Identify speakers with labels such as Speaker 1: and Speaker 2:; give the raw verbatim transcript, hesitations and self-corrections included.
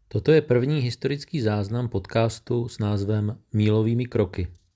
Speaker 1: Toto je první historický záznam podcastu s názvem Mílovými kroky.